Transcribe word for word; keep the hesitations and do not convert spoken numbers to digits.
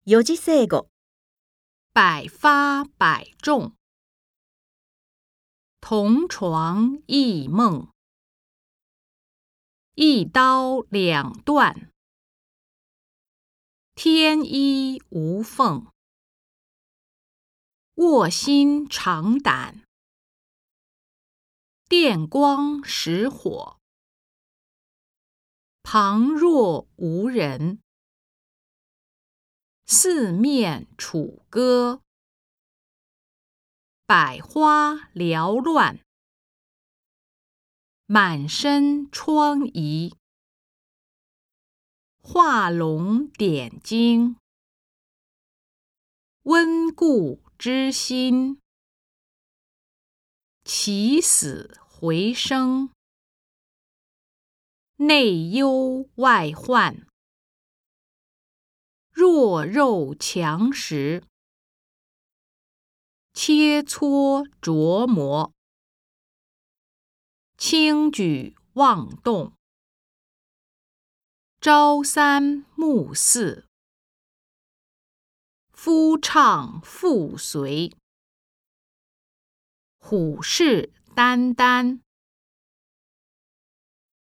四字成語。 百发百中，同床异梦，一刀两断，天衣无缝，卧薪尝胆，电光石火，旁若无人，四面楚歌，百花缭乱，满身疮痍，画龙点睛，温故知新，起死回生，内忧外患，弱肉强食，切磋琢磨，轻举妄动，朝三暮四，夫唱妇随，虎视眈眈。